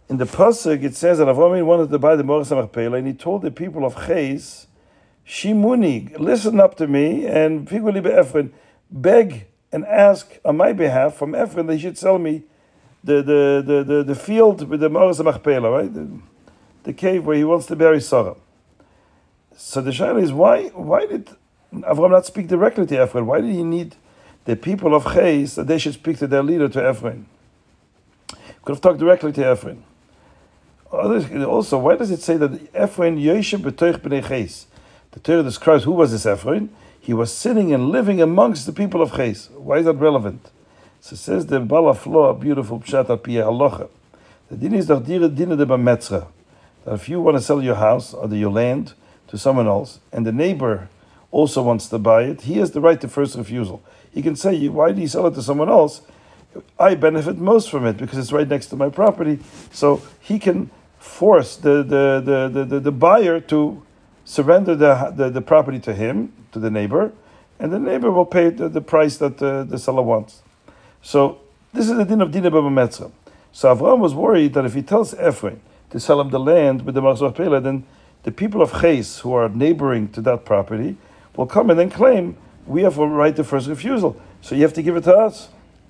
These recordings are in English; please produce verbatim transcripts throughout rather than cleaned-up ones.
in the pasuk it says that Avraham wanted to buy the Me'oras HaMachpelah, and he told the people of Ches, Shimuni, listen up to me, and Figuli be'Ephron, beg and ask on my behalf from Ephron that he should sell me the the, the, the, the field with the Me'oras HaMachpelah, right? The, the cave where he wants to bury Sarah. So the shaila is, why why did Avraham not speak directly to Ephron? Why did he need the people of Ches that they should speak to their leader, to Ephron? Could have talked directly to Ephron. Also, why does it say that Ephron Yoshev b'toich b'nei Ches? The Torah describes who was this Ephron. He was sitting and living amongst the people of Ches. Why is that relevant? So it says the Bala Flo, a beautiful pshat al piyah halacha. The din is that if you want to sell your house or your land to someone else, and the neighbor also wants to buy it, he has the right to first refusal. He can say, why do you sell it to someone else? I benefit most from it because it's right next to my property. So he can force the the the the, the, the buyer to surrender the, the the property to him, to the neighbor, and the neighbor will pay the, the price that the, the seller wants. So this is the din of Dina Baba Metzra. So Avraham was worried that if he tells Ephron to sell him the land with the Me'oras HaMachpelah, then the people of Ches, who are neighboring to that property, will come and then claim, we have a right to first refusal, so you have to give it to us.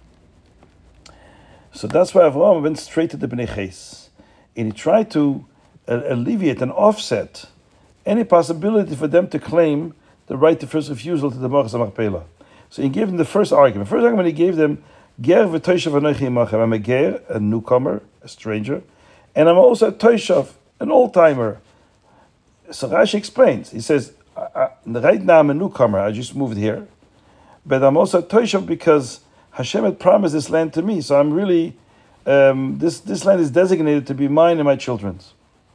So that's why Avraham went straight to the Bnei Ches, and he tried to uh, alleviate and offset any possibility for them to claim the right to first refusal to the Me'oras HaMachpelah. So he gave them the first argument. First argument he gave them, Ger v'toishav anochi imachem. I'm a ger, a newcomer, a stranger, and I'm also a toishav, an old-timer. So Rashi explains. He says, I, I, right now I'm a newcomer. I just moved here, but I'm also a toishav because Hashem had promised this land to me. So I'm really um, this this land is designated to be mine and my children's.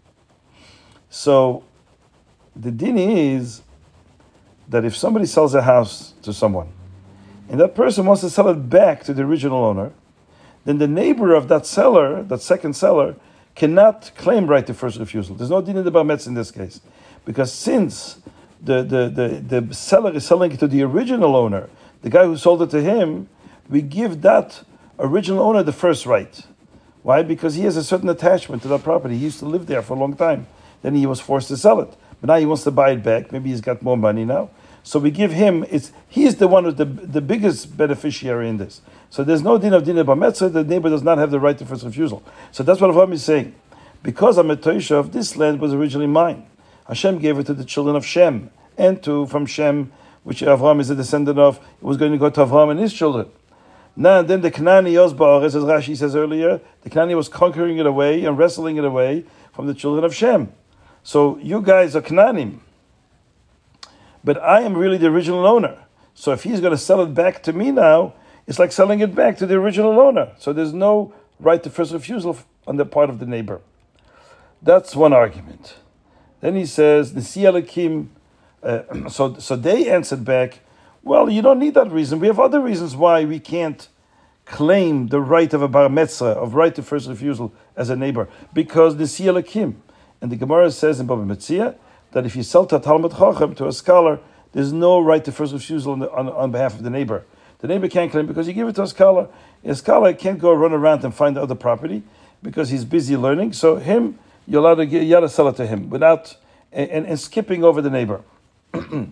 So the din is that if somebody sells a house to someone, and that person wants to sell it back to the original owner, then the neighbor of that seller, that second seller, cannot claim right to first refusal. There's no din in the bar metz in this case. Because since the, the, the, the seller is selling it to the original owner, the guy who sold it to him, we give that original owner the first right. Why? Because he has a certain attachment to that property. He used to live there for a long time. Then he was forced to sell it. But now he wants to buy it back. Maybe he's got more money now. So we give him, it's he's the one who's the, the biggest beneficiary in this. So there's no din of din bar metzah, the neighbor does not have the right to first refusal. So that's what Avraham is saying. Because I'm a toishav, this land was originally mine. Hashem gave it to the children of Shem, and to from Shem, which Avraham is a descendant of, it was going to go to Avraham and his children. Now then the Knani Yosbar, as Rashi says earlier, the Knani was conquering it away and wrestling it away from the children of Shem. So you guys are Knanim. But I am really the original owner. So if he's going to sell it back to me now, it's like selling it back to the original owner. So there's no right to first refusal on the part of the neighbor. That's one argument. Then he says, Nisi Elakim, uh, so, so they answered back, well, you don't need that reason. We have other reasons why we can't claim the right of a bar metzra, of right to first refusal as a neighbor. Because Nisi Elakim, and the Gemara says in Baba Metzia, that if you sell to a Talmud Chacham, to a scholar, there's no right to first refusal on, the, on, on behalf of the neighbor. The neighbor can't claim because you give it to a scholar. A scholar can't go run around and find other property because he's busy learning. So him, you're allowed to, get, you allowed to sell it to him without and, and, and skipping over the neighbor. um,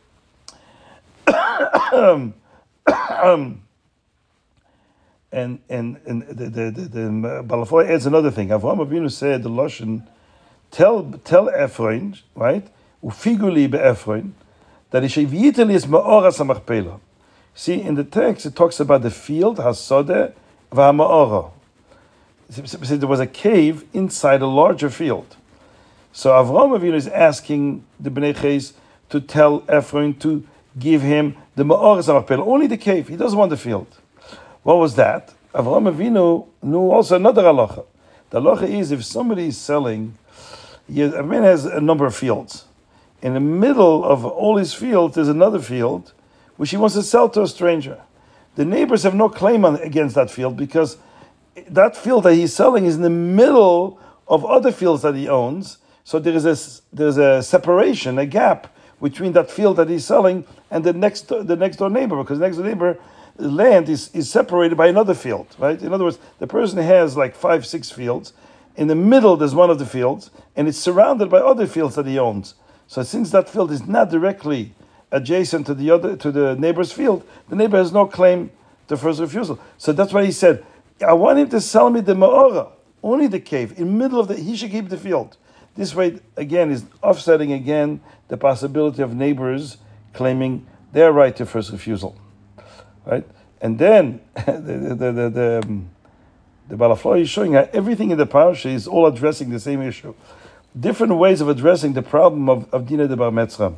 um, and and and the the the, the Balafoy adds another thing. Avraham Avinu said the Lashon, Tell tell Ephron, right? Ufiguli beEphron, that Isheviteli is Me'oras HaMachpelah. See, in the text it talks about the field, Hasodeh v'Ha'Me'ora. There was a cave inside a larger field. So Avraham Avinu is asking the Bnei Ches to tell Ephron to give him the Me'oras HaMachpelah, only the cave. He doesn't want the field. What was that? Avraham Avinu knew also another halacha. The halacha is if somebody is selling. A man has a number of fields. In the middle of all his fields, there's another field which he wants to sell to a stranger. The neighbors have no claim on, against that field because that field that he's selling is in the middle of other fields that he owns. So there is a, there's a separation, a gap between that field that he's selling and the next the next door neighbor, because the next door neighbor land is, is separated by another field, right? In other words, the person has like five, six fields, in the middle there's one of the fields, and it's surrounded by other fields that he owns. So since that field is not directly adjacent to the other to the neighbor's field, the neighbor has no claim to first refusal. So that's why he said, I want him to sell me the ma'ora, only the cave, in the middle of the, he should keep the field. This way, again, is offsetting again the possibility of neighbors claiming their right to first refusal. Right? And then the the the, the, um, the Balafloy is showing how everything in the parasha is all addressing the same issue. Different ways of addressing the problem of, of Dina de Bar Metzra.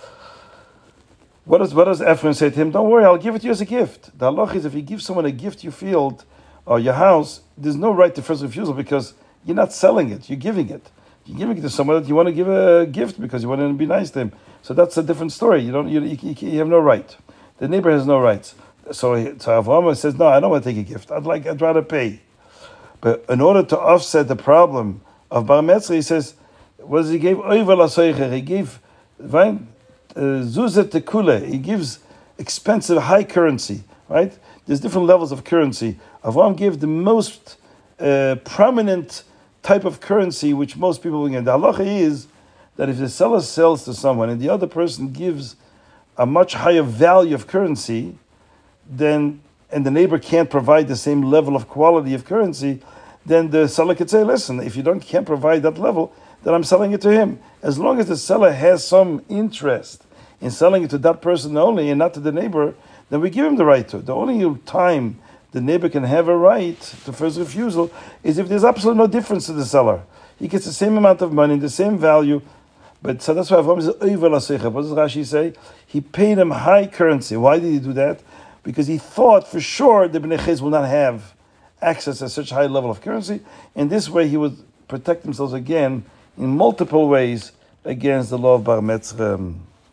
What does, what does Ephraim say to him? Don't worry, I'll give it to you as a gift. The halach is if you give someone a gift, your field or your house, there's no right to first refusal because you're not selling it, you're giving it. You're giving it to someone that you want to give a gift because you want to be nice to him. So that's a different story. You don't, you, you, you have no right. The neighbor has no rights. So, so Avraham says, no, I don't want to take a gift. I'd like, I'd rather pay. But in order to offset the problem of Bar Metzra, he says, what does he give? He gave right? Uh, Zuzet tekule. He gives expensive, high currency, right? There's different levels of currency. Avraham gave the most uh, prominent type of currency which most people will get. The halacha is that if the seller sells to someone and the other person gives a much higher value of currency, then and the neighbor can't provide the same level of quality of currency, then the seller could say, listen, if you don't can't provide that level, then I'm selling it to him. As long as the seller has some interest in selling it to that person only and not to the neighbor, then we give him the right to it. The only time the neighbor can have a right to first refusal is if there's absolutely no difference to the seller. He gets the same amount of money, the same value, but so that's why Avraham says, Oivel HaSeicha. What does Rashi say? He paid him high currency. Why did he do that? Because he thought for sure the Bnei Ches will not have access to such high level of currency, and this way he would protect themselves again in multiple ways against the law of Bar Metzra.